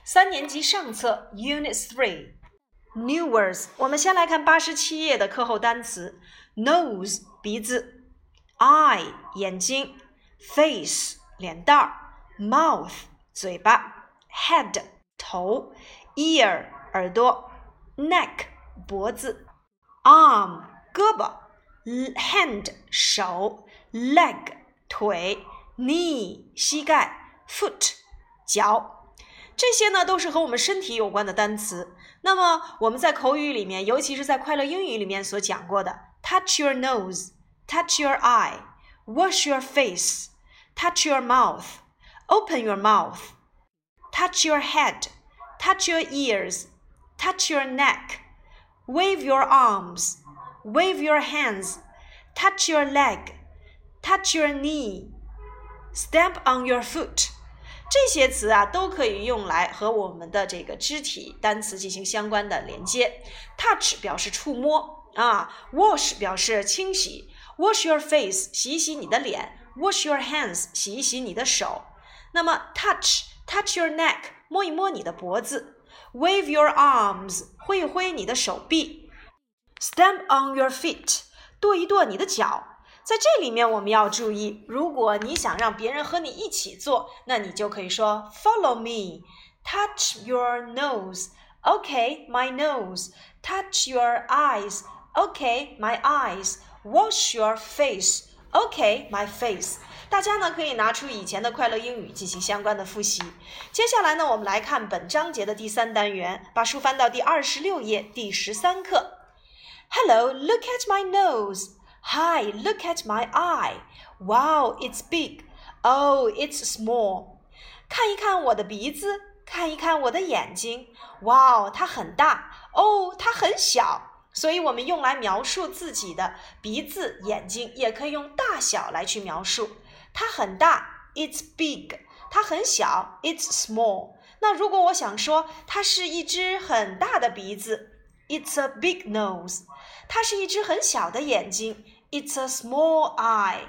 3年级上册 Unit 3 New words 我们先来看87页的课后单词 Nose 鼻子 Eye 眼睛 Face 脸蛋儿 Mouth 嘴巴 Head 头 Ear 耳朵 Neck 脖子 Arm 胳膊 Hand 手 Leg 腿 Knee 膝盖 Foot 脚这些呢都是和我们身体有关的单词。那么我们在口语里面，尤其是在快乐英语里面所讲过的 touch your nose, touch your eye, wash your face, touch your mouth, open your mouth, touch your head, touch your ears, touch your neck, wave your arms, wave your hands, touch your leg, touch your knee, stamp on your foot这些词啊，都可以用来和我们的这个肢体单词进行相关的连接。Touch 表示触摸wash 表示清洗 ，wash your face 洗一洗你的脸 ，wash your hands 洗一洗你的手。那么 touch your neck 摸一摸你的脖子 ，wave your arms 挥一挥你的手臂 ，stamp on your feet 跺一跺你的脚。在这里面我们要注意，如果你想让别人和你一起做，那你就可以说 Follow me, touch your nose, okay, my nose, touch your eyes, okay, my eyes, wash your face, okay, my face. 大家呢可以拿出以前的快乐英语进行相关的复习。接下来呢，我们来看本章节的第3单元，把书翻到第26页第13课。Hello, look at my nose.Hi, look at my eye. Wow, it's big. Oh, it's small. 看一看我的鼻子，看一看我的眼睛。哇，它很大。哦，它很小。所以我们用来描述自己的鼻子、眼睛，也可以用大小来去描述。它很大 ，it's big. 它很小 ，it's small. 那如果我想说它是一只很大的鼻子 ，it's a big nose. 它是一只很小的眼睛 ，it's a small eye.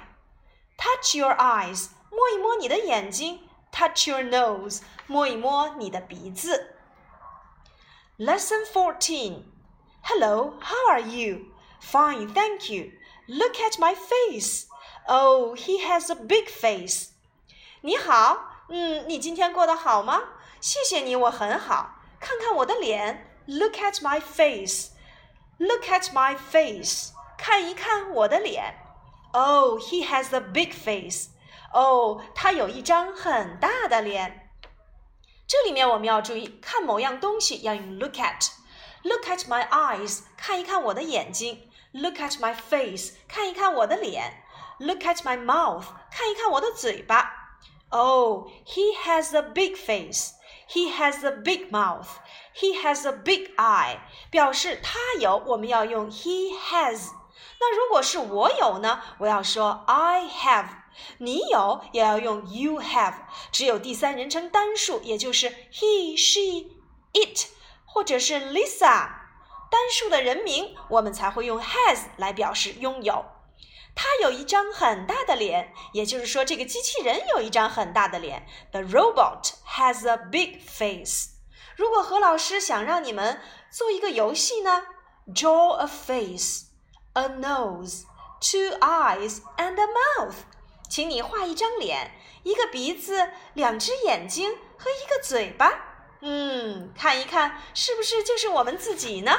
Touch your eyes. 摸一摸你的眼睛 ，touch your nose. 摸一摸你的鼻子。Lesson 14. Hello, how are you? Fine, thank you. Look at my face. Oh, he has a big face. 你好，你今天过得好吗？谢谢你，我很好。看看我的脸 ，Look at my face. Look at my face. 看一看我的脸。Oh, he has a big face. 他有一张很大的脸。这里面我们要注意，看某样东西要用 look at。Look at my eyes. 看一看我的眼睛。Look at my face. 看一看我的脸。Look at my mouth. 看一看我的嘴巴。he has a big face. He has a big mouth. He has a big eye. 表示他有，我们要用 he has。那如果是我有呢？我要说 I have。你有也要用 you have。只有第三人称单数，也就是 he, she, it， 或者是 Lisa， 单数的人名，我们才会用 has 来表示拥有。他有一张很大的脸，也就是说这个机器人有一张很大的脸。The robot has a big face. 如果何老师想让你们做一个游戏呢？ Draw a face, a nose, 2 eyes and a mouth. 请你画一张脸，一个鼻子，2只眼睛和一个嘴巴。看一看是不是就是我们自己呢？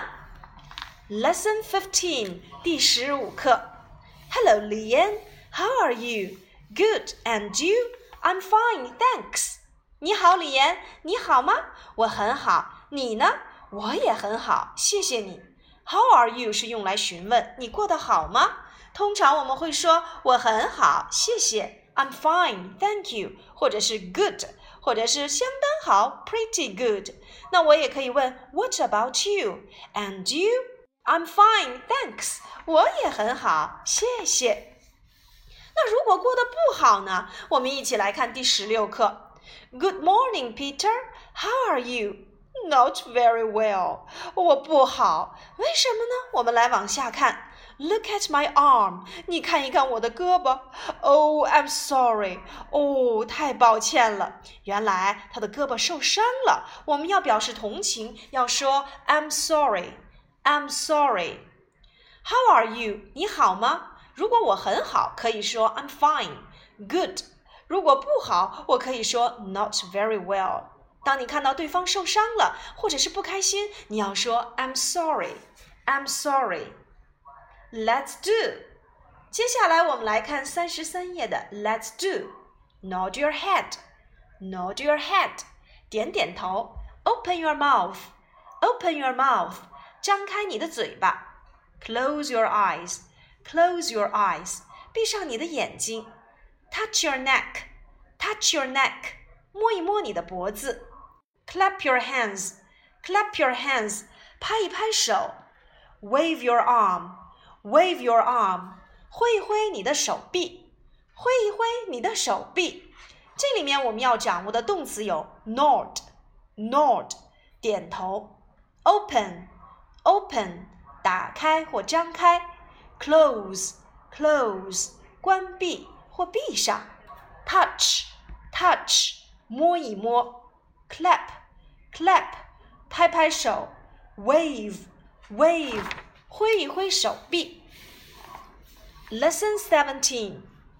Lesson 15 第15课。Hello, Lian. How are you? Good, and you? I'm fine, thanks. 你好，李岩，你好吗？我很好。你呢？我也很好，谢谢你。How are you 是用来询问你过得好吗？通常我们会说我很好，谢谢。I'm fine, thank you. 或者是 good， 或者是相当好 pretty good。那我也可以问 What about you? And you? I'm fine, thanks. 我也很好，谢谢。那如果过得不好呢？我们一起来看第16课。Good morning, Peter. How are you? Not very well. 我不好，为什么呢？我们来往下看。 Look at my arm. 你看一看我的胳膊。Oh, I'm sorry. 哦，太抱歉了。原来他的胳膊受伤了。我们要表示同情，要说 I'm sorry. I'm sorry. How are you? 你好吗？如果我很好，可以说 I'm fine. Good. 如果不好，我可以说 Not very well. 当你看到对方受伤了，或者是不开心，你要说 I'm sorry. I'm sorry.Let's do. 接下来我们来看33页的 Let's do. Nod your head. Nod your head. 点点头。Open your mouth. Open your mouth. 张开你的嘴巴。Close your eyes. Close your eyes. 闭上你的眼睛。Touch your neck. Touch your neck. 摸一摸你的脖子。Clap your hands. Clap your hands. 拍一拍手。Wave your arm.Wave your arm. 挥一挥你的手臂。挥一挥你的手臂。这里面我们要掌握的动词有 nod, nod, 点头 open, open, 打开或张开 close, close, 关闭或闭上 touch, touch, 摸一摸 clap, clap, 拍拍手 wave, wave, 挥一挥手臂。Lesson 17.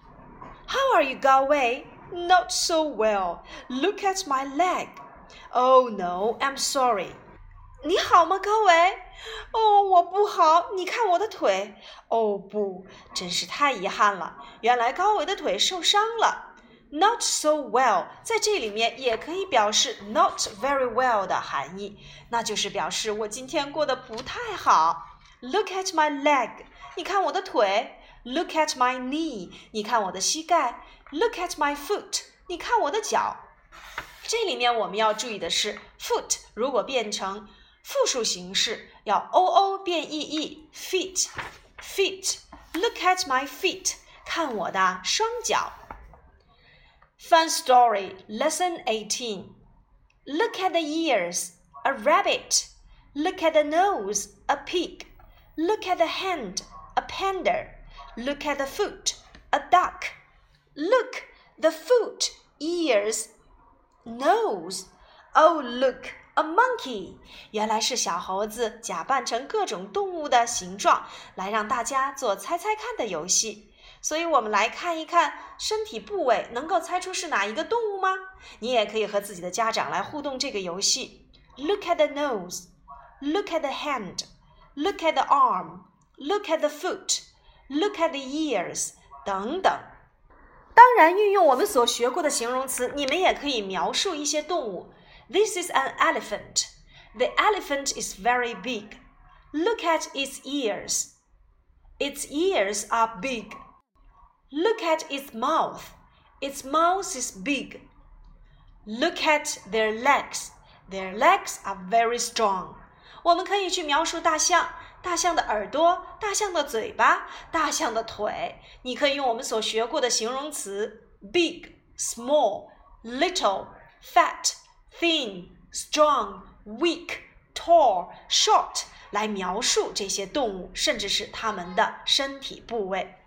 How are you, Galway? Not so well. Look at my leg. Oh no, I'm sorry. 你好吗，高维？哦，我不好，你看我的腿。哦不，真是太遗憾了。原来高维的腿受伤了。Not so well 在这里面也可以表示 not very well 的含义，那就是表示我今天过得不太好。Look at my leg. 你看我的腿。Look at my knee. 你看我的膝盖。Look at my foot. 你看我的脚。这里面我们要注意的是 foot 如果变成复数形式，要 oo 变 ee feet, feet. Look at my feet. 看我的双脚。Fun story, lesson 18. Look at the ears, a rabbit. Look at the nose, a pig. Look at the hand, a panda. Look at the foot, a duck. Look, the foot, ears, nose. Oh, look, a monkey. 原来是小猴子假扮成各种动物的形状，来让大家做猜猜看的游戏。所以我们来看一看身体部位，能够猜出是哪一个动物吗？你也可以和自己的家长来互动这个游戏。Look at the nose. Look at the hand. Look at the arm. Look at the foot.Look at the ears 等等。当然运用我们所学过的形容词，你们也可以描述一些动物。This is an elephant. The elephant is very big. Look at its ears. Its ears are big. Look at its mouth. Its mouth is big. Look at their legs. Their legs are very strong. 我们可以去描述大象。大象的耳朵，大象的嘴巴，大象的腿，你可以用我们所学过的形容词 big, small, little, fat, thin, strong, weak, tall, short 来描述这些动物，甚至是它们的身体部位。